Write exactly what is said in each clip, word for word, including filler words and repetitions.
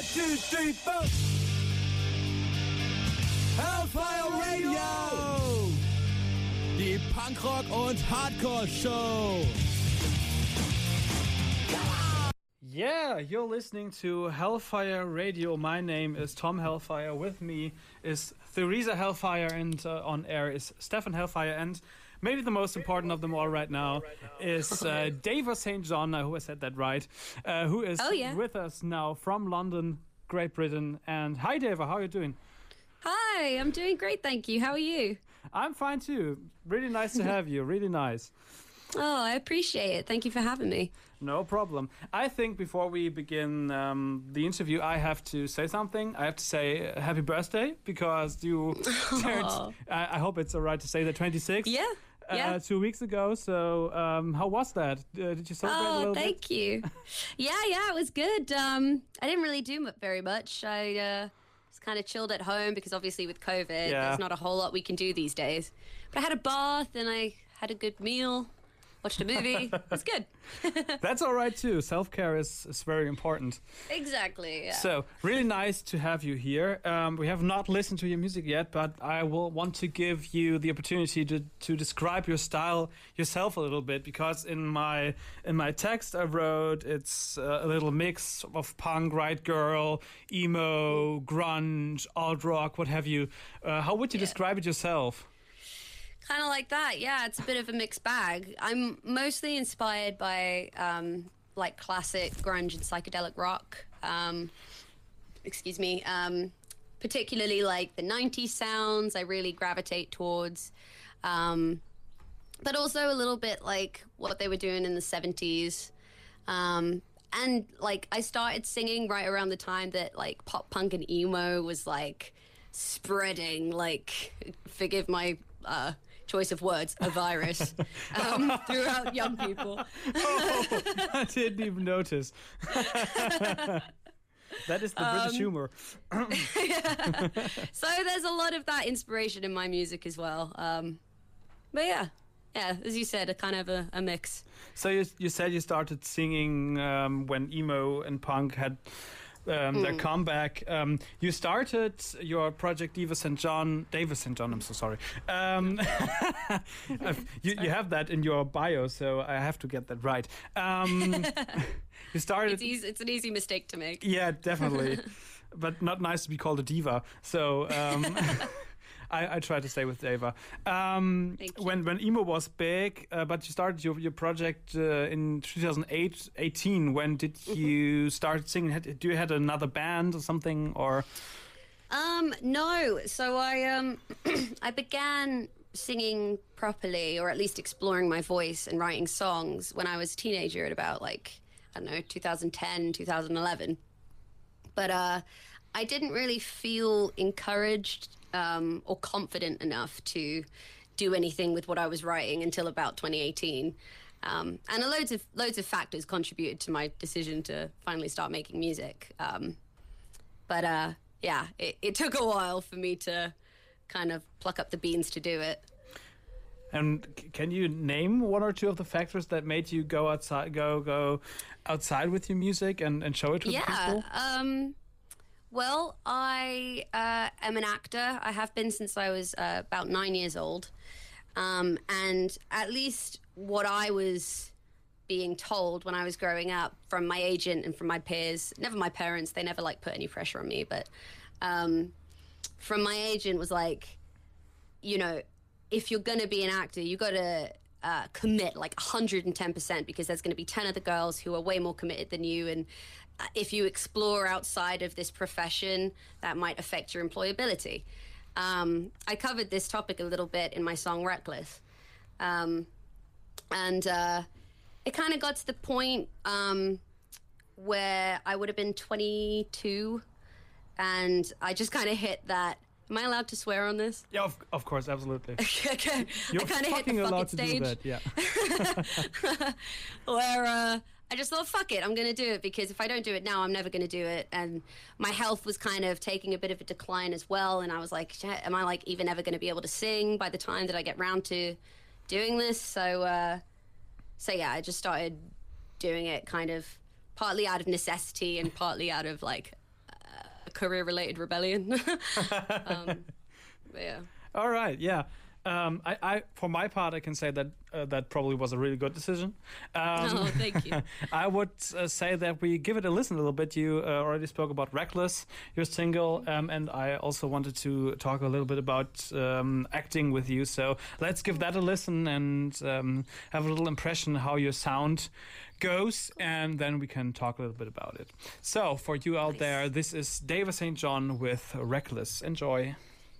two, three, four. Hellfire Radio! Die Punkrock- und Hardcore-Show! Yeah, you're listening to Hellfire Radio. My name is Tom Hellfire. With me is Theresa Hellfire, and uh, on air is Stefan Hellfire. And maybe the most important of them all right now is uh, Dava Saint John. I hope I said that right. Uh, who is oh, yeah. with us now from London, Great Britain. And hi, Dava. How are you doing? Hi, I'm doing great, thank you. How are you? I'm fine too. Really nice to have you. Really nice. Oh, I appreciate it. Thank you for having me. No problem. I think before we begin um, the interview, I have to say something. I have to say uh, happy birthday because you turned, I, I hope it's all right to say that, twenty-six. Yeah. Uh, yeah. Two weeks ago. So um, how was that? Uh, did you celebrate oh, a little thank bit? you. yeah, yeah, it was good. Um, I didn't really do mu- very much. I uh, was kind of chilled at home because obviously with COVID, Yeah. there's not a whole lot we can do these days. But I had a bath and I had a good meal. Watched a movie. It was good. That's all right too. Self-care is, is very important. Exactly, yeah. So, really nice to have you here. Um, we have not listened to your music yet, but I will want to give you the opportunity to, to describe your style yourself a little bit, because in my in my text I wrote it's uh, a little mix of punk, right girl, emo, grunge, alt rock, what have you. Uh, how would you Yeah. describe it yourself? Kind of like that, yeah. It's a bit of a mixed bag. I'm mostly inspired by um, like classic grunge and psychedelic rock. Um, excuse me. Um, particularly like the nineties sounds. I really gravitate towards, um, but also a little bit like what they were doing in the seventies. Um, and like I started singing right around the time that like pop punk and emo was like spreading. Like, forgive my uh, choice of words, a virus um, throughout young people. Oh, I didn't even notice. That is the Um, British humor. So there's a lot of that inspiration in my music as well. Um, but yeah, yeah, as you said, a kind of a, a mix. So you you said you started singing um, when emo and punk had um, their comeback. Um, you started your project Dava Saint John. Dava Saint John. I'm so sorry. Um, you you have that in your bio, so I have to get that right. Um, you started. It's easy, it's an easy mistake to make. Yeah, definitely. But not nice to be called a diva. So um, I, I try to stay with Dava. Um, Thank you. when when emo was big, uh, but you started your your project uh, in two thousand eight, eighteen. When did you start singing? Had, do you had another band or something, or? Um, no. So I um I began singing properly, or at least exploring my voice and writing songs when I was a teenager at about like, I don't know, two thousand ten, two thousand eleven. But uh, I didn't really feel encouraged um, or confident enough to do anything with what I was writing until about twenty eighteen. Um, and loads of loads of factors contributed to my decision to finally start making music. Um, but uh, yeah, it, it took a while for me to kind of pluck up the beans to do it. And c- can you name one or two of the factors that made you go outside, go go outside with your music and, and show it to the Yeah. people? Um, well, I uh, am an actor. I have been since I was uh, about nine years old. Um, and at least what I was being told when I was growing up from my agent and from my peers, never my parents, they never like put any pressure on me, but um, from my agent was like, you know, if you're going to be an actor, you got to uh, commit like one hundred ten percent, because there's going to be ten other girls who are way more committed than you. And uh, if you explore outside of this profession, that might affect your employability. Um, I covered this topic a little bit in my song Reckless. Um, and uh, it kind of got to the point um, where I would have been twenty-two, and I just kind of hit that. Am I allowed to swear on this? Yeah, of, of course, absolutely. Okay. You're I kind of hit the fucking fuck allowed it to stage. do that. Yeah. where uh, I just thought, fuck it, I'm going to do it, because if I don't do it now, I'm never going to do it. And my health was kind of taking a bit of a decline as well. And I was like, shit, am I like even ever going to be able to sing by the time that I get round to doing this? So, uh, so yeah, I just started doing it kind of partly out of necessity and partly out of like career-related rebellion. um, but yeah. All right, yeah. Um, I, I, for my part, I can say that uh, that probably was a really good decision. Um, Oh, thank you. I would uh, say that we give it a listen a little bit. You uh, already spoke about Reckless, your single, um, and I also wanted to talk a little bit about um, acting with you. So let's give that a listen and um, have a little impression how your sound goes, and then we can talk a little bit about it. So for you out Nice. there, this is David Saint John with Reckless. Enjoy.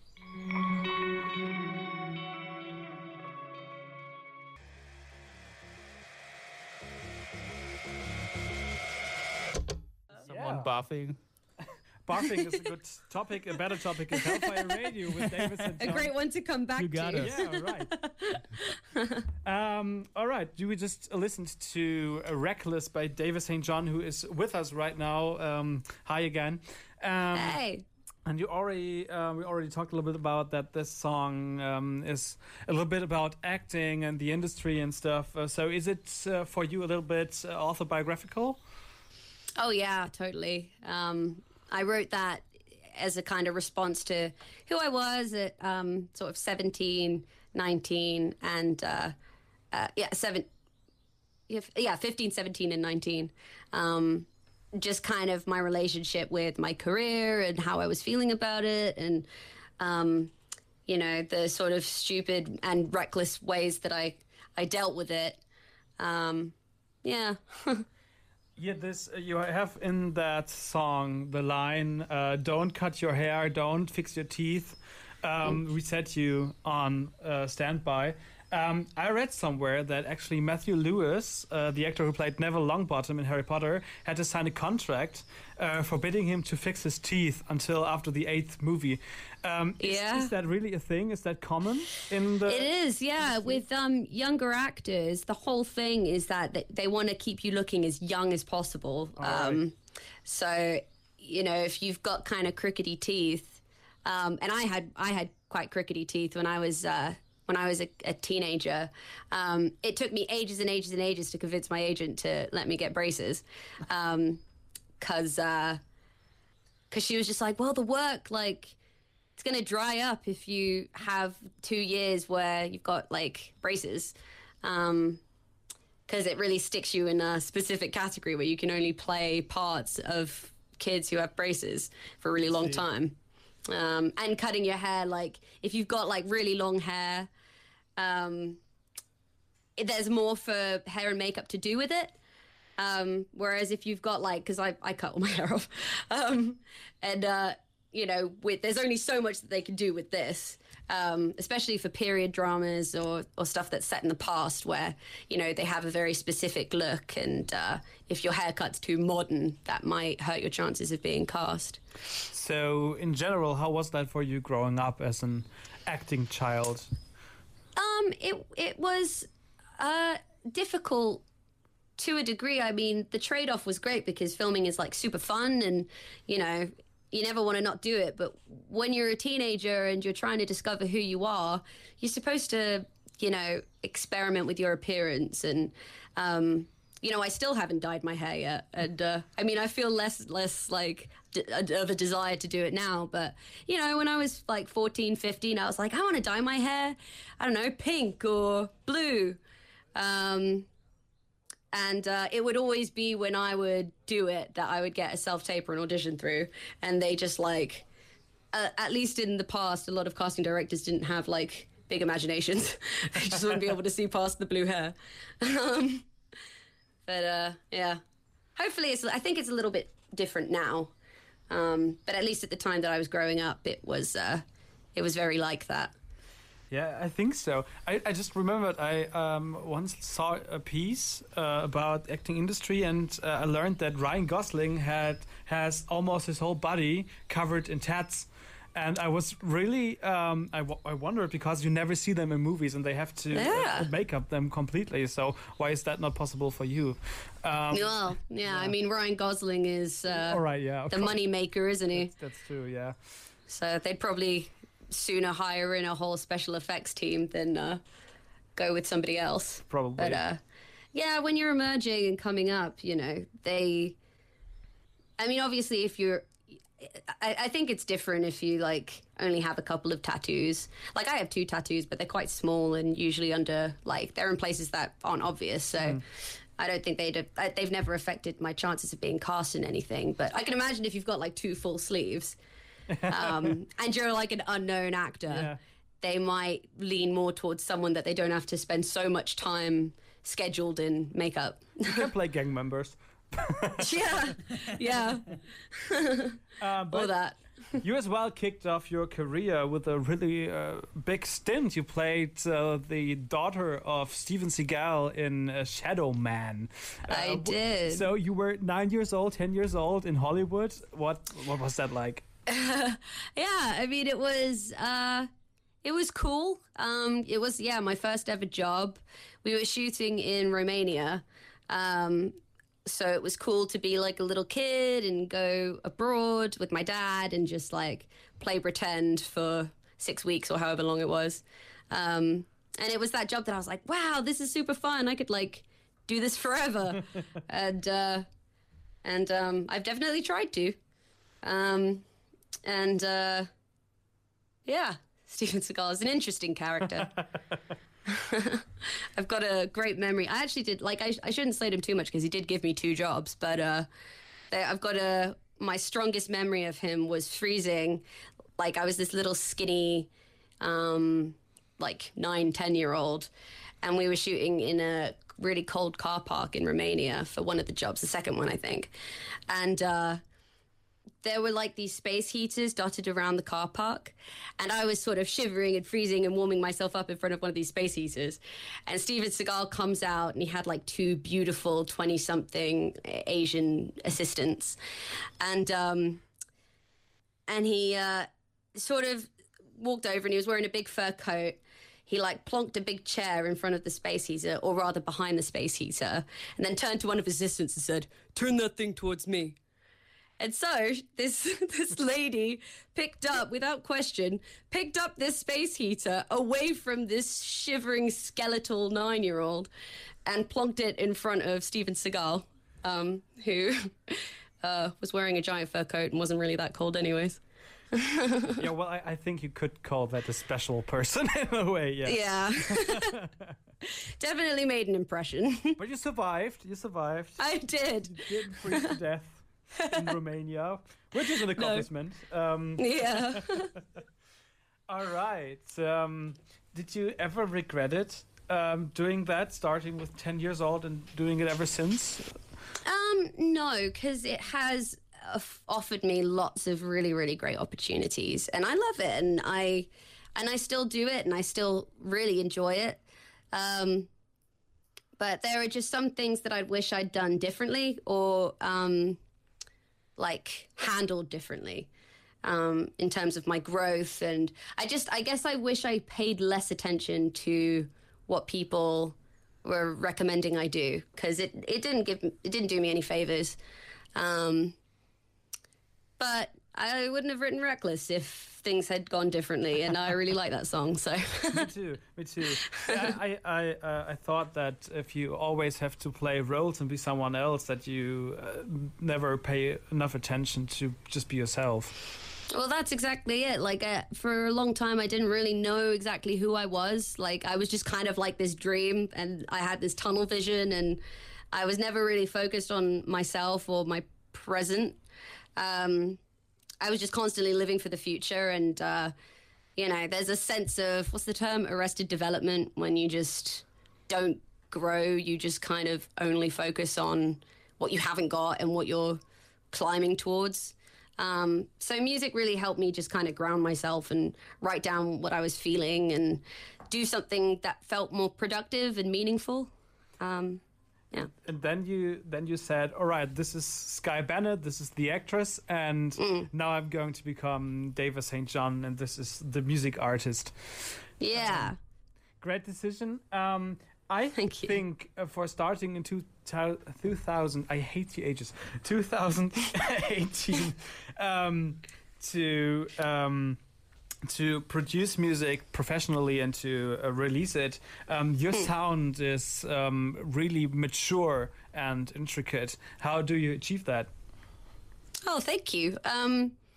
Someone barfing. Barfing is a good topic. A better topic is Hellfire Radio with David Saint A John. great one to come back You got to. it. Yeah, right. um, all right. Do we just listened to uh, Reckless by David Saint John, who is with us right now. Um, hi again. Um, Hey. And you already, uh, we already talked a little bit about that. This song um, is a little bit about acting and the industry and stuff. Uh, so, is it uh, for you a little bit uh, autobiographical? Oh yeah, totally. Um, I wrote that as a kind of response to who I was at um, sort of seventeen, nineteen, and uh, uh, yeah, seven, yeah, yeah, fifteen, seventeen, and nineteen. Um, just kind of my relationship with my career and how I was feeling about it, and um, you know, the sort of stupid and reckless ways that I I dealt with it. Um, yeah. Yeah, this uh, you have in that song the line, uh, "Don't cut your hair, don't fix your teeth." Um, we set you on uh, standby. Um, I read somewhere that actually Matthew Lewis, uh, the actor who played Neville Longbottom in Harry Potter, had to sign a contract uh, forbidding him to fix his teeth until after the eighth movie. Um, is, Yeah. is that really a thing? Is that common in the? It is, yeah. With um, younger actors, the whole thing is that they, they want to keep you looking as young as possible. Um, so, you know, if you've got kind of crickety teeth, um, and I had I had quite crickety teeth when I was uh, when I was a, a teenager. Um, it took me ages and ages and ages to convince my agent to let me get braces, because um, because she was just like, well, the work like. It's going to dry up if you have two years where you've got like braces, um, because it really sticks you in a specific category where you can only play parts of kids who have braces for a really long time. Um, and cutting your hair, like if you've got like really long hair, um, it- there's more for hair and makeup to do with it. Um, whereas if you've got like, because I, I cut all my hair off, um, and uh, you know, with there's only so much that they can do with this, um, especially for period dramas or or stuff that's set in the past, where you know they have a very specific look, and uh, if your haircut's too modern, that might hurt your chances of being cast. So, in general, how was that for you growing up as an acting child? Um, it it was uh, difficult to a degree. I mean, the trade-off was great because filming is like super fun, and you know, you never want to not do it. But when you're a teenager and you're trying to discover who you are, you're supposed to, you know, experiment with your appearance. And um, you know, I still haven't dyed my hair yet, and uh, I mean, I feel less less like d- of a desire to do it now. But you know, when I was like fourteen, fifteen, I was like, I want to dye my hair, I don't know, pink or blue. Um, And uh, it would always be when I would do it that I would get a self-tape or an audition through. And they just like, uh, at least in the past, a lot of casting directors didn't have like big imaginations. They just wouldn't be able to see past the blue hair. Um, but uh, yeah, hopefully it's, I think it's a little bit different now. Um, but at least at the time that I was growing up, it was, uh, it was very like that. Yeah, I think so. I, I just remembered I um, once saw a piece uh, about acting industry, and uh, I learned that Ryan Gosling had has almost his whole body covered in tats. And I was really, um, I, w- I wondered because you never see them in movies and they have to Yeah. uh, make up them completely. So why is that not possible for you? Um, Well, yeah, I mean, Ryan Gosling is uh, all right, yeah. of the course. money maker, isn't he? That's true, yeah. So they'd probably sooner hire in a whole special effects team than uh, go with somebody else. Probably. But uh, yeah, when you're emerging and coming up, you know, they. I mean, obviously, if you're I, I think it's different if you like only have a couple of tattoos. Like I have two tattoos, but they're quite small and usually under like they're in places that aren't obvious. So mm. I don't think they'd have, they've never affected my chances of being cast in anything. But I can imagine if you've got like two full sleeves, um, and you're like an unknown actor, yeah. they might lean more towards someone that they don't have to spend so much time scheduled in makeup. You can play gang members. yeah, yeah. uh, but All that. You as well kicked off your career with a really uh, big stint. You played uh, the daughter of Steven Seagal in uh, Shadow Man. Uh, I did. So you were nine years old, ten years old in Hollywood. What what was that like? Uh, yeah, I mean, it was uh, it was cool. Um, it was yeah, my first ever job. We were shooting in Romania. Um, So it was cool to be like a little kid and go abroad with my dad and just like play pretend for six weeks or however long it was. Um, and it was that job that I was like, wow, this is super fun. I could like do this forever. and uh, and um, I've definitely tried to. Um, and uh, yeah, Steven Seagal is an interesting character. I've got a great memory. I actually did, like, I, I shouldn't slate him too much because he did give me two jobs, but uh, they, I've got a, my strongest memory of him was freezing. Like, I was this little skinny, um, like, nine, ten-year-old, and we were shooting in a really cold car park in Romania for one of the jobs, the second one, I think. And uh, there were like these space heaters dotted around the car park, and I was sort of shivering and freezing and warming myself up in front of one of these space heaters. And Steven Seagal comes out, and he had like two beautiful twenty-something Asian assistants, and um, and he uh, sort of walked over, and he was wearing a big fur coat. He like plonked a big chair in front of the space heater, or rather behind the space heater, and then turned to one of his assistants and said, "Turn that thing towards me." And so this this lady picked up, without question, picked up this space heater away from this shivering skeletal nine-year-old and plonked it in front of Steven Seagal, um, who uh, was wearing a giant fur coat and wasn't really that cold anyways. Yeah, well, I, I think you could call that a special person in a way, yeah. Yeah. Definitely made an impression. But you survived, you survived. I did. You didn't freeze to death in Romania, which is an accomplishment. No. Um, yeah. All right. Um, did you ever regret it, um, doing that, starting with ten years old and doing it ever since? Um, no, because it has uh, offered me lots of really, really great opportunities, and I love it, and I and I still do it, and I still really enjoy it. Um, but there are just some things that I wish I'd done differently, or um, like handled differently. Um, in terms of my growth, and I just, I guess I wish I paid less attention to what people were recommending I do, because it, it didn't give, it didn't do me any favors. Um, but I wouldn't have written Reckless if things had gone differently, and I really like that song. So me too, me too. Yeah, I I uh, I thought that if you always have to play roles and be someone else, that you uh, never pay enough attention to just be yourself. Well, that's exactly it. Like, uh, for a long time, I didn't really know exactly who I was. Like, I was just kind of like this dream, and I had this tunnel vision, and I was never really focused on myself or my present. Um, I was just constantly living for the future, and, uh, you know, there's a sense of, what's the term, arrested development, when you just don't grow. You just kind of only focus on what you haven't got and what you're climbing towards. Um, so music really helped me just kind of ground myself and write down what I was feeling and do something that felt more productive and meaningful. Um, yeah. And then you then you said, all right, this is Skye Bennett, this is the actress, and mm. now I'm going to become David Saint John, and this is the music artist. Yeah. Um, great decision. Um, I Thank think uh, for starting in two thousand, I hate the ages, twenty eighteen, um, to um, to produce music professionally and to uh, release it, um, your mm. sound is um, really mature and intricate. How do you achieve that? Oh, thank you. Um,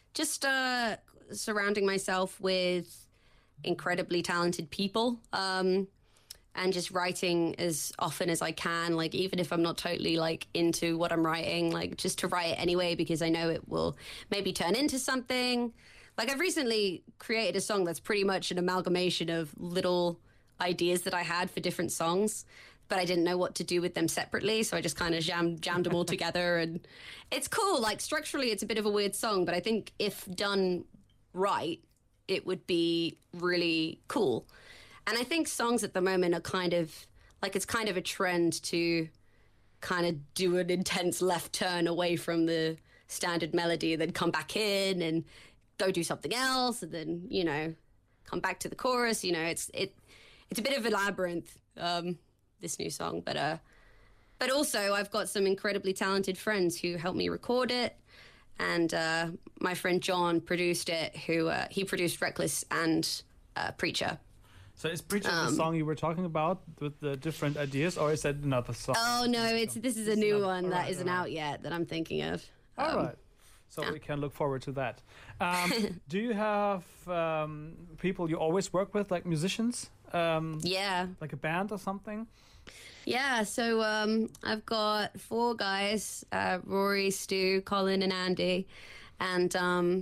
just uh, surrounding myself with incredibly talented people. Um, and just writing as often as I can, like even if I'm not totally like into what I'm writing, like just to write it anyway, because I know it will maybe turn into something. Like I've recently created a song that's pretty much an amalgamation of little ideas that I had for different songs, but I didn't know what to do with them separately. So I just kind of jammed, jammed them all together, and it's cool. Like structurally, it's a bit of a weird song, but I think if done right, it would be really cool. And I think songs at the moment are kind of like, it's kind of a trend to kind of do an intense left turn away from the standard melody, then come back in and go do something else, and then, you know, come back to the chorus. You know, it's it it's a bit of a labyrinth, um, this new song. But uh, but also I've got some incredibly talented friends who helped me record it. And uh, my friend John produced it, who uh, he produced Reckless and uh, Preacher. So is Preacher Um, the song you were talking about with the different ideas, or is that another song? Oh, no, it's this is a new another- one that alright, isn't alright. out yet that I'm thinking of. All Um, right. So we can look forward to that. Um, do you have um, people you always work with, like musicians? Um, Yeah. like a band or something? Yeah, so um, I've got four guys, uh, Rory, Stu, Colin, and Andy. And um,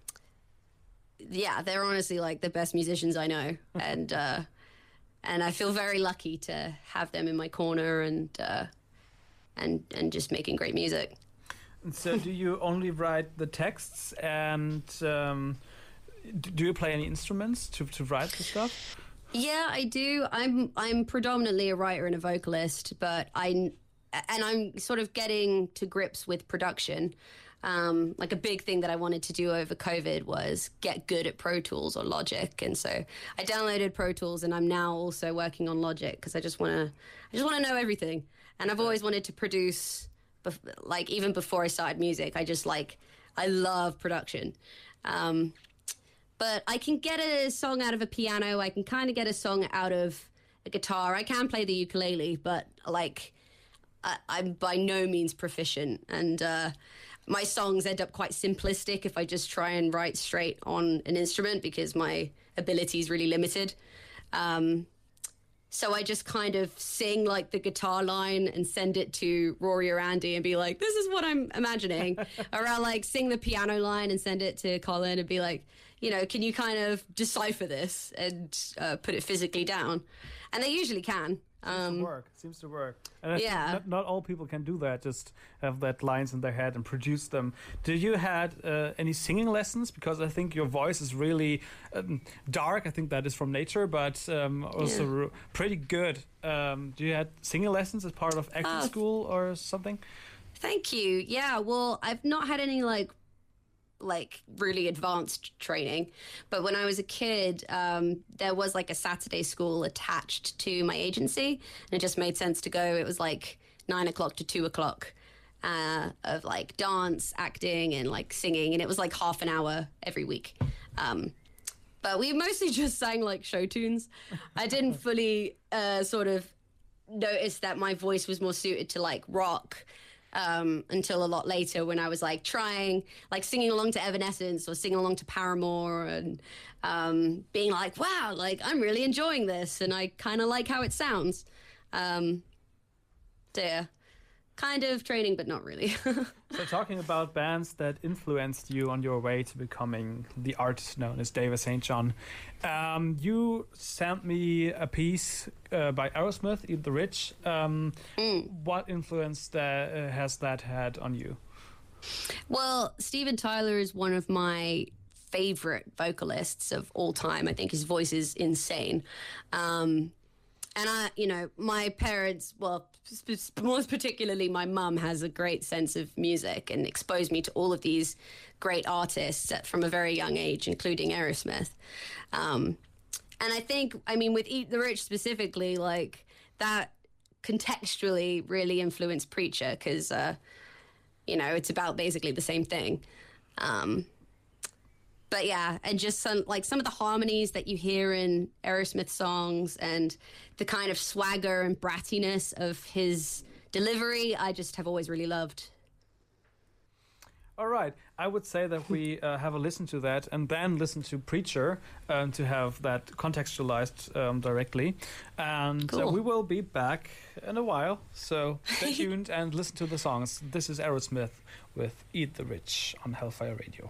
yeah, they're honestly like the best musicians I know. and uh, and I feel very lucky to have them in my corner and uh, and and just making great music. And so do you only write the texts, and um, d- do you play any instruments to, to write the stuff? Yeah, I do. I'm I'm predominantly a writer and a vocalist, but I and I'm sort of getting to grips with production. Um, like a big thing that I wanted to do over COVID was get good at Pro Tools or Logic, and so I downloaded Pro Tools, and I'm now also working on Logic because I just want to I just want to know everything. And I've always wanted to produce, bef- like even before I started music. I just like I love production. Um, But I can get a song out of a piano. I can kind of get a song out of a guitar. I can play the ukulele, but like I, I'm by no means proficient. And uh, my songs end up quite simplistic if I just try and write straight on an instrument because my ability is really limited. Um, so I just kind of sing like the guitar line and send it to Rory or Andy and be like, this is what I'm imagining. Or I'll like sing the piano line and send it to Colin and be like, you know, can you kind of decipher this and uh, put it physically down? And they usually can. Seems Um, to work. Seems to work. And I think yeah. not, not all people can do that. Just have that lines in their head and produce them. Did you had uh, any singing lessons? Because I think your voice is really um, dark. I think that is from nature, but um, also Yeah. r- pretty good. Um, do you had singing lessons as part of acting Oh. school or something? Thank you. Yeah, well, I've not had any like like really advanced training, but when I was a kid, um, there was like a Saturday school attached to my agency, and it just made sense to go. It was like nine o'clock to two o'clock uh, of like dance, acting, and like singing, and it was like half an hour every week. Um, but we mostly just sang like show tunes. I didn't fully uh, sort of notice that my voice was more suited to like rock um, until a lot later when I was like trying, like singing along to Evanescence or singing along to Paramore and um, being like, wow, like I'm really enjoying this and I kind of like how it sounds. Um, so yeah, kind of training, but not really. So talking about bands that influenced you on your way to becoming the artist known as David Saint John, um, you sent me a piece uh, by Aerosmith, Eat the Rich. Um, Mm. What influence that, uh, has that had on you? Well, Steven Tyler is one of my favorite vocalists of all time. I think his voice is insane. Um, and I, you know, my parents, well, sp- most particularly my mum has a great sense of music and exposed me to all of these great artists at, from a very young age, including Aerosmith. Um, and I think, I mean, with Eat the Rich specifically, like that contextually really influenced Preacher because, uh, you know, it's about basically the same thing. Um, but yeah, and just some like some of the harmonies that you hear in Aerosmith songs and the kind of swagger and brattiness of his delivery, I just have always really loved. All right. I would say that we uh, have a listen to that and then listen to Preacher um, to have that contextualized um, directly. And uh, Cool. we will be back in a while. So stay tuned and listen to the songs. This is Aerosmith with Eat the Rich on Hellfire Radio.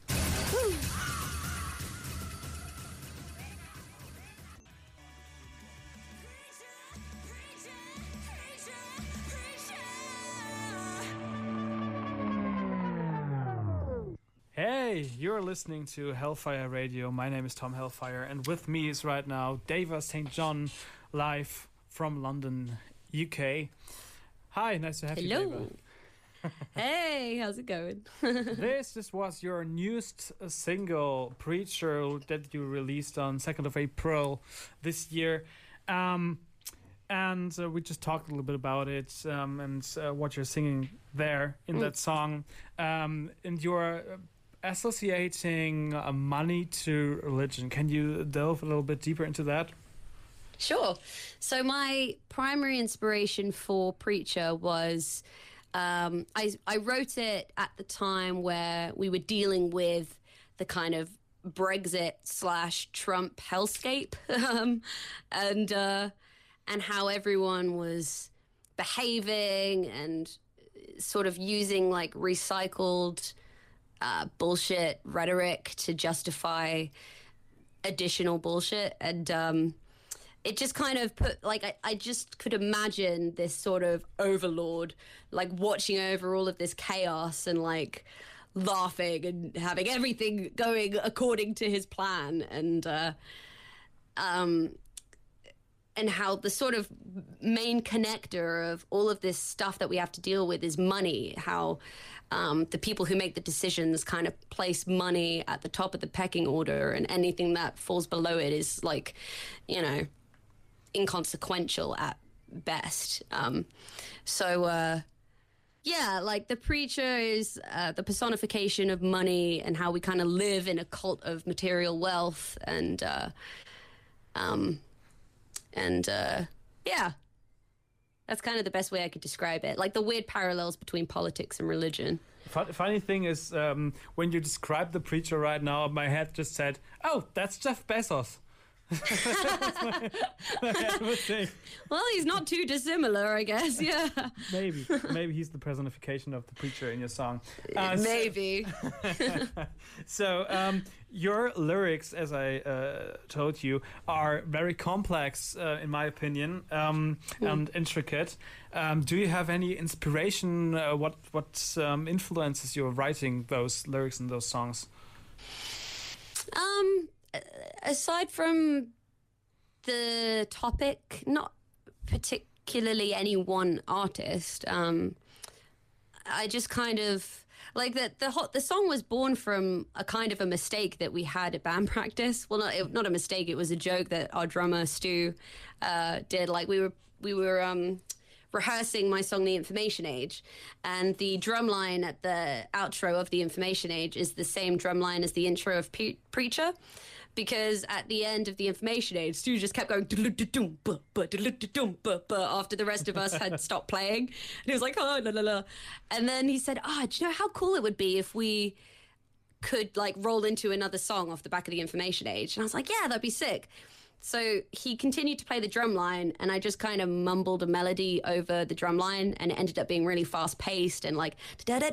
Hey, you're listening to Hellfire Radio. My name is Tom Hellfire, and with me is right now Deva Saint John, live from London, U K. Hi, nice to have you, Hello. Deva. Hey, how's it going? This, this was your newest uh, single, Preacher, that you released on second of April this year. Um, and uh, we just talked a little bit about it um, and uh, what you're singing there in Mm. that song. Um, and you're uh, associating uh, money to religion. Can you delve a little bit deeper into that? Sure. So my primary inspiration for Preacher was um, I, I wrote it at the time where we were dealing with the kind of Brexit slash Trump hellscape um, and uh, and how everyone was behaving and sort of using like recycled uh, bullshit rhetoric to justify additional bullshit. And um, it just kind of put like I, I just could imagine this sort of overlord like watching over all of this chaos and like laughing and having everything going according to his plan, and uh um and how the sort of main connector of all of this stuff that we have to deal with is money, how um, the people who make the decisions kind of place money at the top of the pecking order, and anything that falls below it is like, you know, inconsequential at best. Um, so, uh, yeah, like the Preacher is uh, the personification of money and how we kind of live in a cult of material wealth, and uh, um, and uh, yeah, that's kind of the best way I could describe it. Like the weird parallels between politics and religion. Fun, funny thing is, um, when you describe the Preacher right now, my head just said, "Oh, that's Jeff Bezos." my, my head would think. Well, he's not too dissimilar, I guess. Yeah, Maybe, maybe he's the personification of the Preacher in your song. Uh, so- maybe. So, um, your lyrics, as I uh, told you, are very complex, uh, in my opinion, um, and intricate. Um, do you have any inspiration? Uh, what what um, influences your writing those lyrics and those songs? Um, aside from the topic, not particularly any one artist. Um, I just kind of like that. The hot the song was born from a kind of a mistake that we had at band practice. Well, not it, not a mistake. It was a joke that our drummer Stu uh, did. Like we were we were um, rehearsing my song "The Information Age," and the drum line at the outro of "The Information Age" is the same drum line as the intro of Pe- Preacher. Because at the end of The Information Age, Stu just kept going after the rest of us had stopped playing. And he was like, oh, la, la, la. And then he said, ah, oh, do you know how cool it would be if we could like roll into another song off the back of The Information Age? And I was like, yeah, that'd be sick. So he continued to play the drum line, and I just kind of mumbled a melody over the drum line, and it ended up being really fast paced and like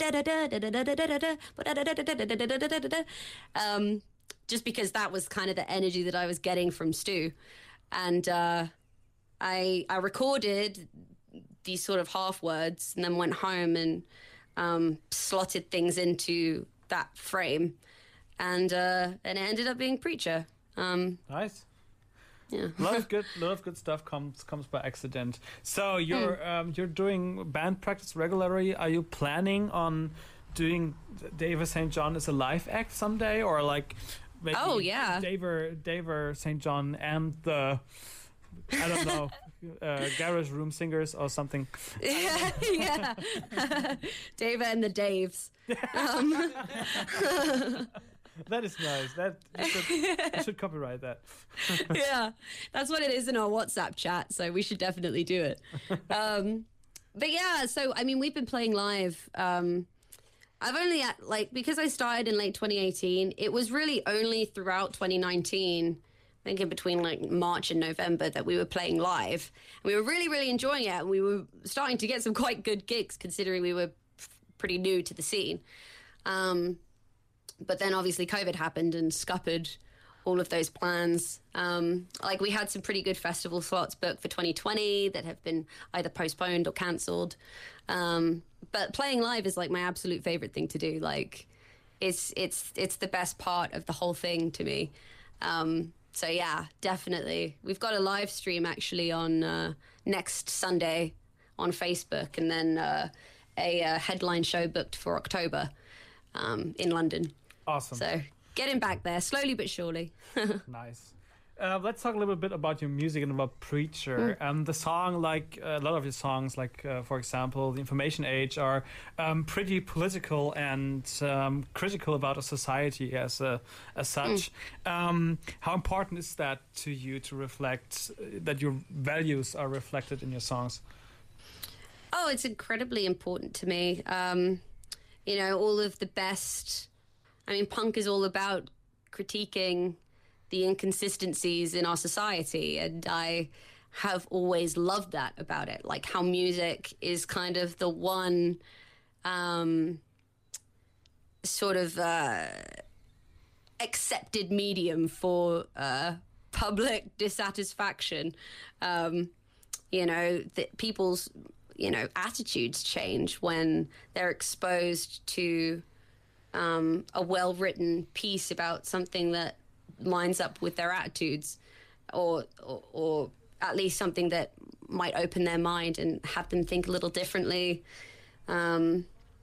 um just because that was kind of the energy that I was getting from Stu. And uh, I I recorded these sort of half words and then went home and um, slotted things into that frame. And uh, and it ended up being Preacher. Um, Nice. yeah. A lot of good, lot of good stuff comes comes by accident. So you're um, you're doing band practice regularly. Are you planning on doing Deva Saint John as a live act someday, or like maybe Oh, yeah. Deva Deva Saint John and the I don't know uh, garage room singers or something? yeah, yeah. Dave and the Daves. Um, That is nice. That you should, you should copyright that. yeah, that's what it is in our WhatsApp chat. So we should definitely do it. Um, but yeah, so I mean, we've been playing live um, I've only at, like because I started in late twenty eighteen. It was really only throughout twenty nineteen, I think in between like March and November, that we were playing live. And we were really, really enjoying it, and we were starting to get some quite good gigs considering we were f- pretty new to the scene. Um, but then obviously COVID happened and scuppered all of those plans. Um, like we had some pretty good festival slots booked for twenty twenty that have been either postponed or cancelled. Um, but playing live is like my absolute favorite thing to do. Like it's, it's, it's the best part of the whole thing to me. Um, so yeah, definitely. We've got a live stream actually on, uh, next Sunday on Facebook, and then, uh, a, uh headline show booked for October, um, in London. Awesome. So getting back there slowly but surely. Nice. Uh, let's talk a little bit about your music and about Preacher. Mm. Um, the song, like uh, a lot of your songs, like uh, for example, The Information Age, are um, pretty political and um, critical about a society as a, as such. Mm. Um, how important is that to you to reflect uh, that your values are reflected in your songs? Oh, it's incredibly important to me. Um, you know, all of the best. I mean, punk is all about critiquing the inconsistencies in our society, and I have always loved that about it, like how music is kind of the one um, sort of uh, accepted medium for uh, public dissatisfaction. Um, you know, that people's, you know, attitudes change when they're exposed to um, a well-written piece about something that lines up with their attitudes, or, or or at least something that might open their mind and have them think a little differently. Um,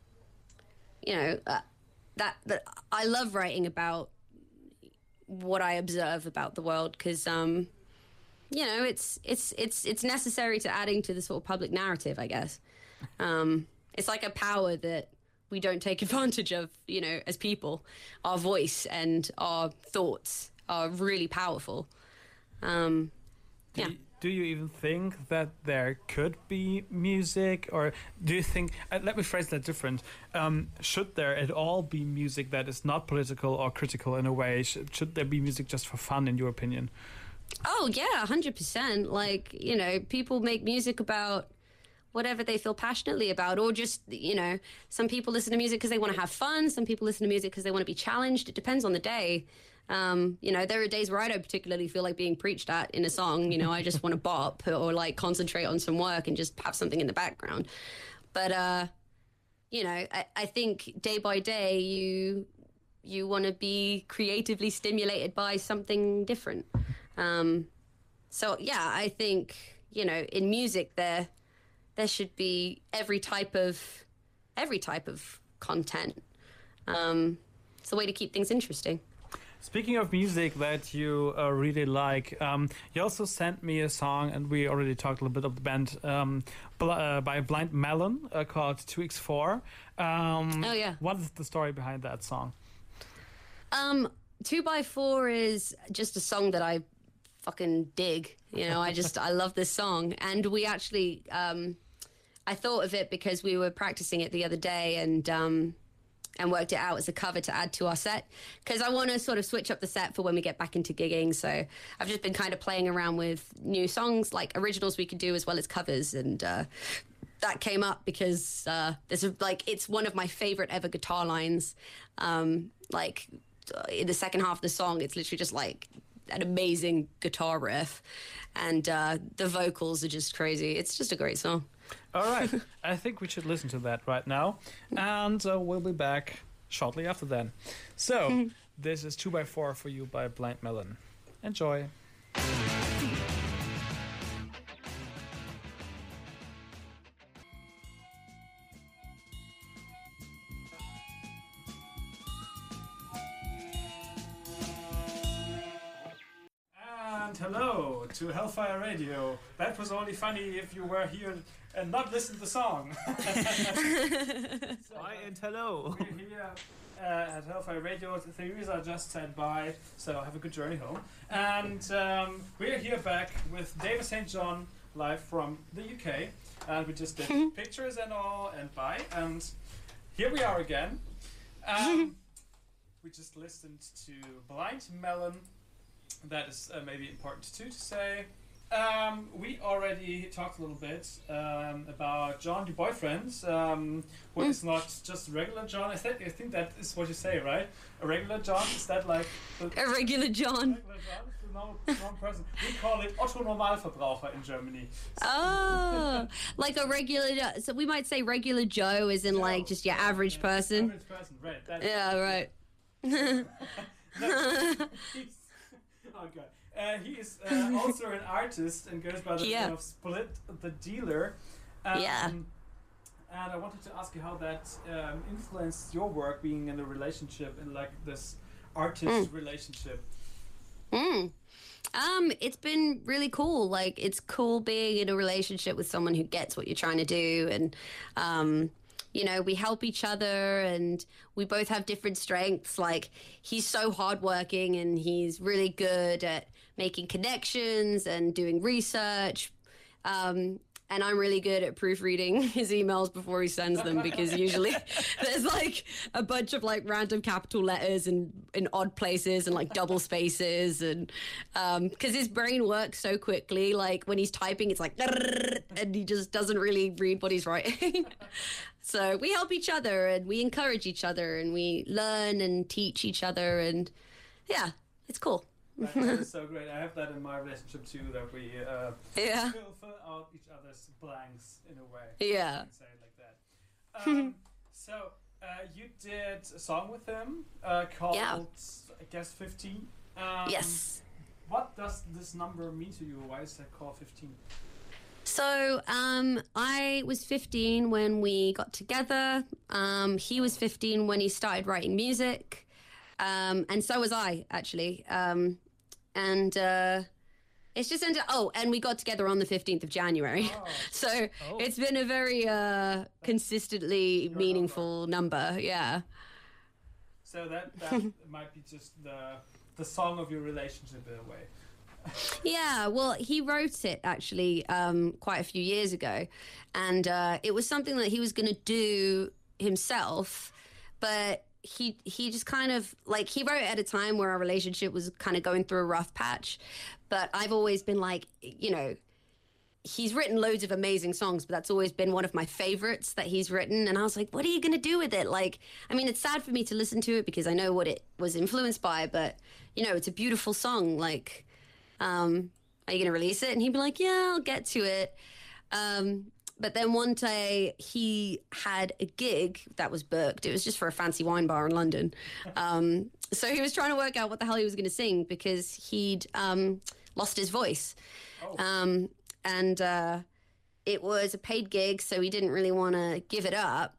you know, uh, that that I love writing about what I observe about the world, because um, you know, it's it's it's it's necessary to adding to the sort of public narrative, I guess. Um, it's like a power that we don't take advantage of, you know, as people. Our voice and our thoughts are really powerful. Um, yeah. Do you, do you even think that there could be music, or do you think, uh, let me phrase that different, um, should there at all be music that is not political or critical in a way? Should, should there be music just for fun, in your opinion? Oh, yeah, one hundred percent. Like, you know, people make music about whatever they feel passionately about, or just, you know, some people listen to music because they want to have fun. Some people listen to music because they want to be challenged. It depends on the day. Um, you know, there are days where I don't particularly feel like being preached at in a song. You know, I just want to bop or like concentrate on some work and just have something in the background. But, uh, you know, I, I think day by day you you want to be creatively stimulated by something different. Um, so, yeah, I think, you know, in music there... there should be every type of every type of content. Um, it's a way to keep things interesting. Speaking of music that you uh, really like, um, you also sent me a song, and we already talked a little bit of the band um, bl- uh, by Blind Melon uh, called two X four. Um, oh yeah. What is the story behind that song? Um, two by four is just a song that I fucking dig. You know, I just I love this song, and we actually. Um, I thought of it because we were practicing it the other day, and um, and worked it out as a cover to add to our set, because I want to sort of switch up the set for when we get back into gigging. So I've just been kind of playing around with new songs, like originals we could do as well as covers, and uh, that came up because uh, there's a, like it's one of my favorite ever guitar lines. Um, like in the second half of the song, it's literally just like an amazing guitar riff, and uh, the vocals are just crazy. It's just a great song. All right. I think we should listen to that right now. And uh, we'll be back shortly after then. So, this is two by four for you by Blind Melon. Enjoy. And hello to Hellfire Radio. That was only funny if you were here and not listen to the song. So, Hi and hello. We're here uh, at Hellfire Radio. Theresa just said bye, so have a good journey home. And um, we're here back with David Saint John, live from the U K. And we just did pictures and all, and bye. And here we are again. Um, we just listened to Blind Melon. That is uh, maybe important too to say. Um, we already talked a little bit um, about John, your boyfriend, um, who mm. is not just a regular John. I think I think that is what you say, right? A regular John, is that like the, a regular John? A regular John is the normal, normal person. We call it Otto Normalverbraucher in Germany. So oh, like a regular. So we might say regular Joe, as in Joe. Like just your average yeah, person. Average person, right? That's yeah, right. Oh god. Uh, he is uh, also an artist and goes by the yeah. name of Split the Dealer. Um, yeah. And I wanted to ask you how that um, influenced your work, being in a relationship, in like this artist mm. relationship. Mm. Um, it's been really cool. Like, it's cool being in a relationship with someone who gets what you're trying to do, and um, you know, we help each other, and we both have different strengths. Like, he's so hardworking, and he's really good at making connections and doing research. Um, and I'm really good at proofreading his emails before he sends them, because usually there's like a bunch of like random capital letters and in odd places and like double spaces. And um, because his brain works so quickly, like when he's typing, it's like, and he just doesn't really read what he's writing. So we help each other, and we encourage each other, and we learn and teach each other. And yeah, it's cool. That, that is so great. I have that in my relationship too, that we uh, yeah. fill, fill out each other's blanks in a way. Yeah. I can say it like that. Um, so uh, you did a song with him uh, called, yeah. I guess, fifteen. Um, yes. What does this number mean to you? Why is that called fifteen? So um, I was fifteen when we got together. Um, he was fifteen when he started writing music. Um, and so was I, actually. Um, and uh, it's just ended. Oh, and we got together on the fifteenth of January. Oh. So oh. It's been a very uh, consistently Your meaningful number. number. Yeah. So that, that might be just the the song of your relationship in a way. Yeah, well, he wrote it actually um, quite a few years ago, and uh, it was something that he was going to do himself, but he he just kind of like he wrote it at a time where our relationship was kind of going through a rough patch. But I've always been like, you know, he's written loads of amazing songs, but that's always been one of my favorites that he's written. And I was like, what are you going to do with it? Like, I mean, it's sad for me to listen to it because I know what it was influenced by, but you know, it's a beautiful song. Like, um, are you going to release it? And he'd be like, yeah, I'll get to it. Um, but then one day he had a gig that was booked. It was just for a fancy wine bar in London. Um, so he was trying to work out what the hell he was going to sing because he'd um, lost his voice. Oh. Um, and uh, it was a paid gig, so he didn't really want to give it up.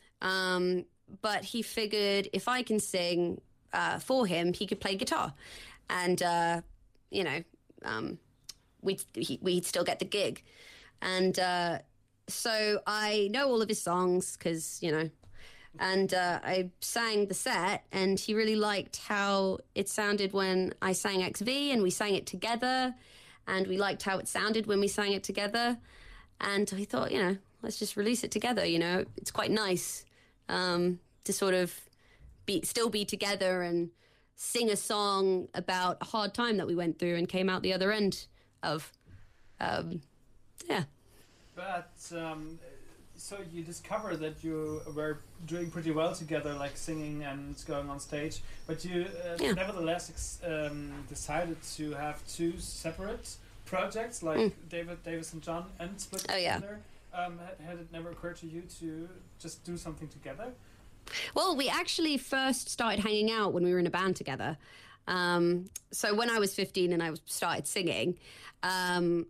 Um, but he figured if I can sing uh, for him, he could play guitar. And, uh, you know, um, we'd, he, we'd still get the gig. And uh, so I know all of his songs because, you know, and uh, I sang the set, and he really liked how it sounded when I sang X V, and we sang it together, and we liked how it sounded when we sang it together. And I thought, you know, let's just release it together, you know. It's quite nice um, to sort of be still be together and sing a song about a hard time that we went through and came out the other end of. Um, yeah. But um, so you discovered that you were doing pretty well together, like singing and going on stage. But you uh, yeah. nevertheless ex- um, decided to have two separate projects, like mm. David Davis and John, and split oh, yeah. together. Um, had, had it never occurred to you to just do something together? Well, we actually first started hanging out when we were in a band together. Um, so when I was fifteen and I started singing, um,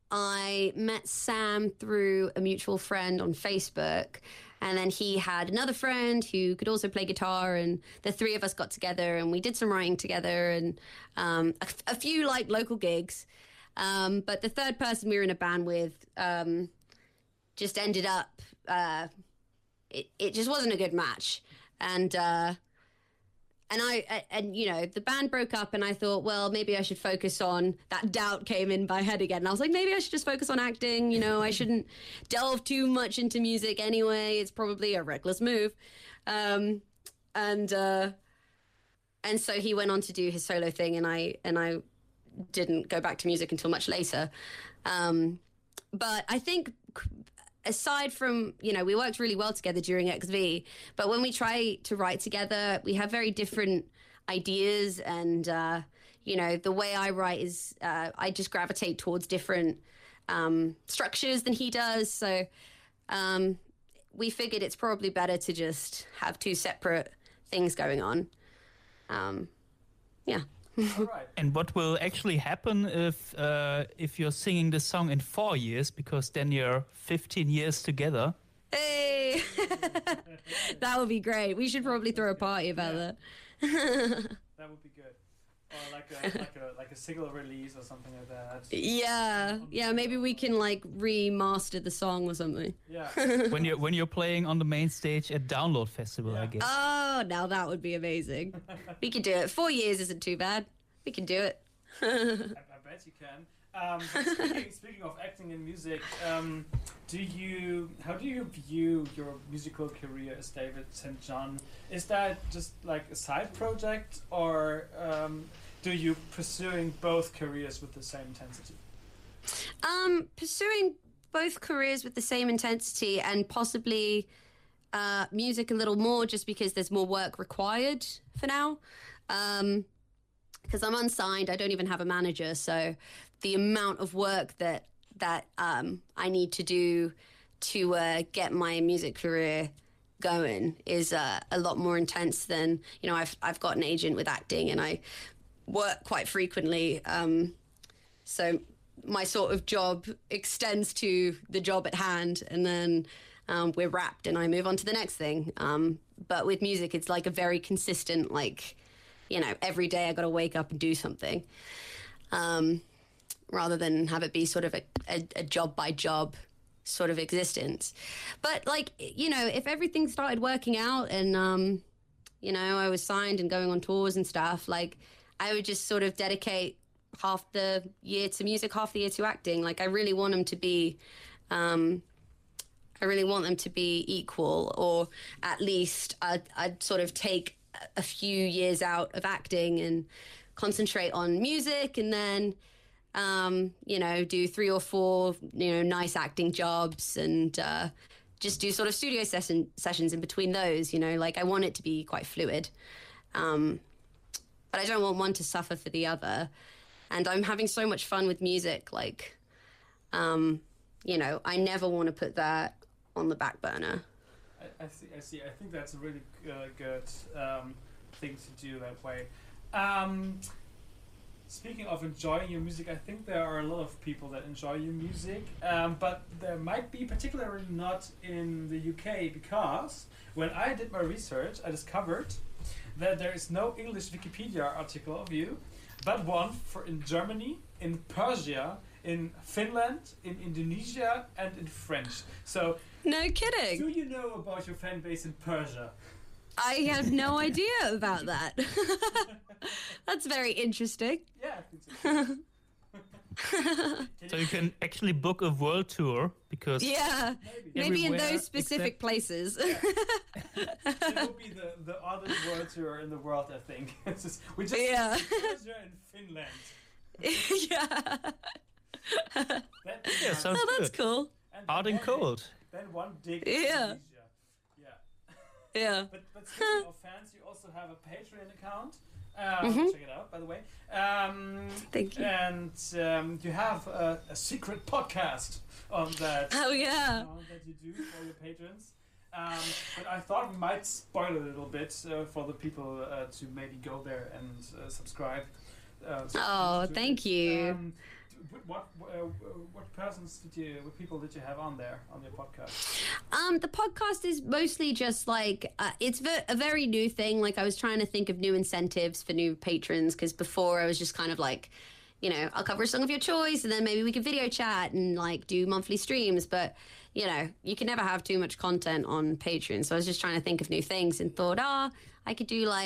I met Sam through a mutual friend on Facebook, and then he had another friend who could also play guitar, and the three of us got together and we did some writing together and um, a, a few like local gigs. Um, but the third person we were in a band with um, just ended up, uh, it, it just wasn't a good match. And uh, and I and you know the band broke up, and I thought, well, maybe I should focus on that. Doubt came in my head again, and I was like, maybe I should just focus on acting. You know, I shouldn't delve too much into music anyway. It's probably a reckless move, um, and uh, and so he went on to do his solo thing, and I and I didn't go back to music until much later. Um, but I think, aside from, you know, we worked really well together during X V, but when we try to write together, we have very different ideas. And, uh, you know, the way I write is uh, I just gravitate towards different um, structures than he does. So um, we figured it's probably better to just have two separate things going on. Um, yeah. All right. And what will actually happen if uh, if you're singing this song in four years? Because then you're fifteen years together. Hey, that would be great. We should probably throw a party about Yeah. that. That would be good. Or like a like a like a single release or something like that. Yeah, yeah. Maybe we can like remaster the song or something. Yeah. when you're when you're playing on the main stage at Download Festival, I Yeah. guess. Oh, now that would be amazing. We could do it. Four years isn't too bad. We can do it. I, I bet you can. Um, but speaking, speaking of acting and music, um, do you how do you view your musical career as David Saint John? Is that just like a side project, or um, do you pursuing both careers with the same intensity? Um, pursuing both careers with the same intensity, and possibly uh, music a little more, just because there's more work required for now. Um, because I'm unsigned, I don't even have a manager, so the amount of work that that um, I need to do to uh, get my music career going is uh, a lot more intense than, you know, I've I've got an agent with acting, and I work quite frequently. Um, so my sort of job extends to the job at hand, and then um, we're wrapped, and I move on to the next thing. Um, but with music, it's like a very consistent, like, you know, every day I got to wake up and do something, um, rather than have it be sort of a, a, a job by job sort of existence. But like, you know, if everything started working out and, um, you know, I was signed and going on tours and stuff, like I would just sort of dedicate half the year to music, half the year to acting. Like I really want them to be, um, I really want them to be equal, or at least I'd, I'd sort of take a few years out of acting and concentrate on music, and then um you know do three or four you know nice acting jobs, and uh just do sort of studio session sessions in between those. You know, like I want it to be quite fluid, um but I don't want one to suffer for the other. And I'm having so much fun with music, like um you know I never want to put that on the back burner. I, I see. I see. I think that's a really uh, good um, thing to do that way. Um, speaking of enjoying your music, I think there are a lot of people that enjoy your music, um, but there might be particularly not in the U K, because when I did my research, I discovered that there is no English Wikipedia article of you, but one for in Germany, in Persia, in Finland, in Indonesia, and in French. So, No kidding. do you know about your fan base in Persia? I had no idea about that. That's very interesting. Yeah, I think so. So you can actually book a world tour, because Yeah, Maybe. maybe in Everywhere those specific except- places. It would be the, the oddest world tour in the world, I think. It's just, we just Yeah. Persia and Finland. Yeah. That, Yeah, sounds Oh, that's good. cool. and Hot then and one- cold. Then one dig. Yeah. Indonesia. Yeah. Yeah. But, but speaking of fans, you also have a Patreon account. Um, Mhm. Check it out, by the way. Um, Thank you. And um, you have a, a secret podcast on that. Oh, yeah. account that you do for your patrons. Um, but I thought we might spoil it a little bit uh, for the people uh, to maybe go there and uh, subscribe. Uh, so Oh, to thank it. you. Um, what uh, what persons did you, what people did you have on there on your podcast? Um, the podcast is mostly just like uh, it's ve- a very new thing. Like I was trying to think of new incentives for new patrons, because before I was just kind of like, you know, I'll cover a song of your choice, and then maybe we could video chat and like do monthly streams. But you know, you can never have too much content on Patreon. So I was just trying to think of new things, and thought, ah, I could do like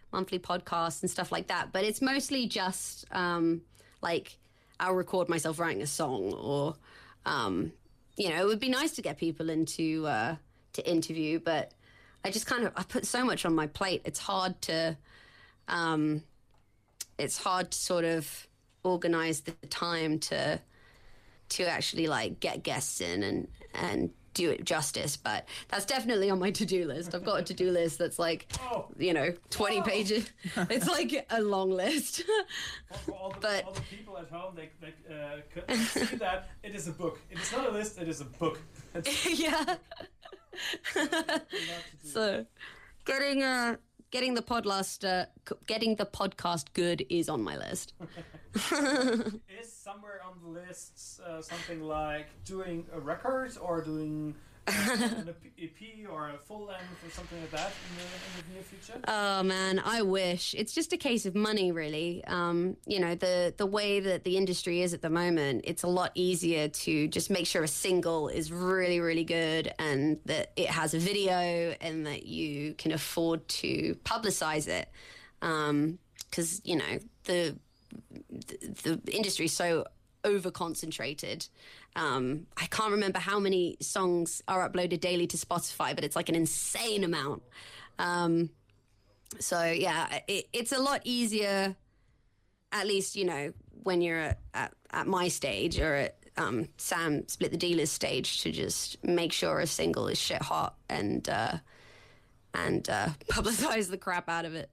monthly podcasts and stuff like that. But it's mostly just um, like I'll record myself writing a song, or um, you know, it would be nice to get people into uh, to interview, but I just kind of I put so much on my plate. It's hard to um, it's hard to sort of organize the time to to actually like get guests in and and do it justice. But that's definitely on my to-do list. I've got a to-do list that's like, Oh. you know, twenty Oh. pages. It's like a long list. For, for all, the, But- all the people at home, they, they uh, could see that it is a book. It is not a list, it is a book. It's Yeah. a lot to do. So getting uh getting the podcast uh, c- getting the podcast good is on my list. Is somewhere on the list uh, something like doing a record or doing uh, an E P or a full length or something like that in the, in the near future? Oh man, I wish. It's just a case of money, really. Um, you know, the the way that the industry is at the moment, it's a lot easier to just make sure a single is really, really good and that it has a video and that you can afford to publicize it. Because you know the the, the industry is so over concentrated. Um, I can't remember how many songs are uploaded daily to Spotify, but it's like an insane amount. Um, so yeah, it, it's a lot easier, at least, you know, when you're at, at, at my stage or at um, Sam Split the Dealers stage, to just make sure a single is shit hot and uh, and uh, publicize the crap out of it.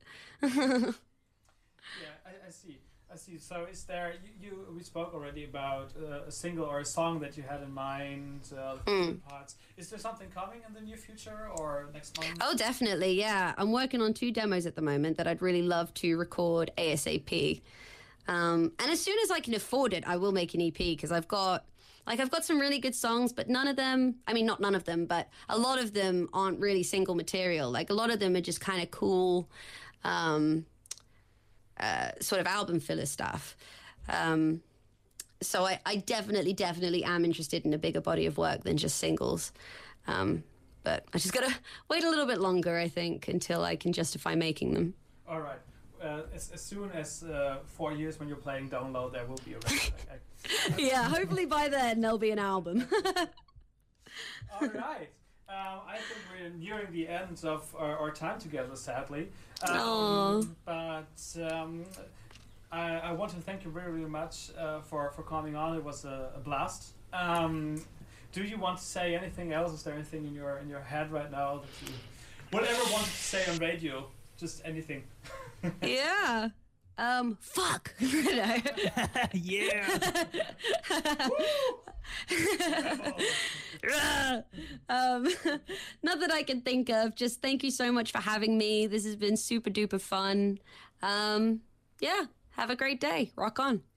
Yeah, I, I see. I see. So, is there you? you we spoke already about uh, a single or a song that you had in mind. Uh, Mm. parts. Is there something coming in the near future or next month? Oh, definitely, yeah. I'm working on two demos at the moment that I'd really love to record ASAP. Um, and as soon as I can afford it, I will make an E P because I've got, like, I've got some really good songs, but none of them, I mean, not none of them, but a lot of them aren't really single material. Like, a lot of them are just kind of cool, um, uh, sort of album filler stuff. Um, so I, I definitely, definitely am interested in a bigger body of work than just singles. Um, but I just gotta wait a little bit longer, I think, until I can justify making them. All right. Uh, as, as soon as uh, four years when you're playing Download, there will be a record. I, I, Yeah, hopefully by then there'll be an album. All right. Um, I think we're nearing the end of our, our time together, sadly. Um, Aw. but um, I, I want to thank you very, very much uh, for, for coming on. It was a, a blast. Um, do you want to say anything else? Is there anything in your in your head right now that you whatever wanted to say on radio? Just anything. Yeah. Um, fuck. No. Yeah. um, not that I can think of. Just thank you so much for having me. This has been super duper fun. Um, yeah. Have a great day. Rock on.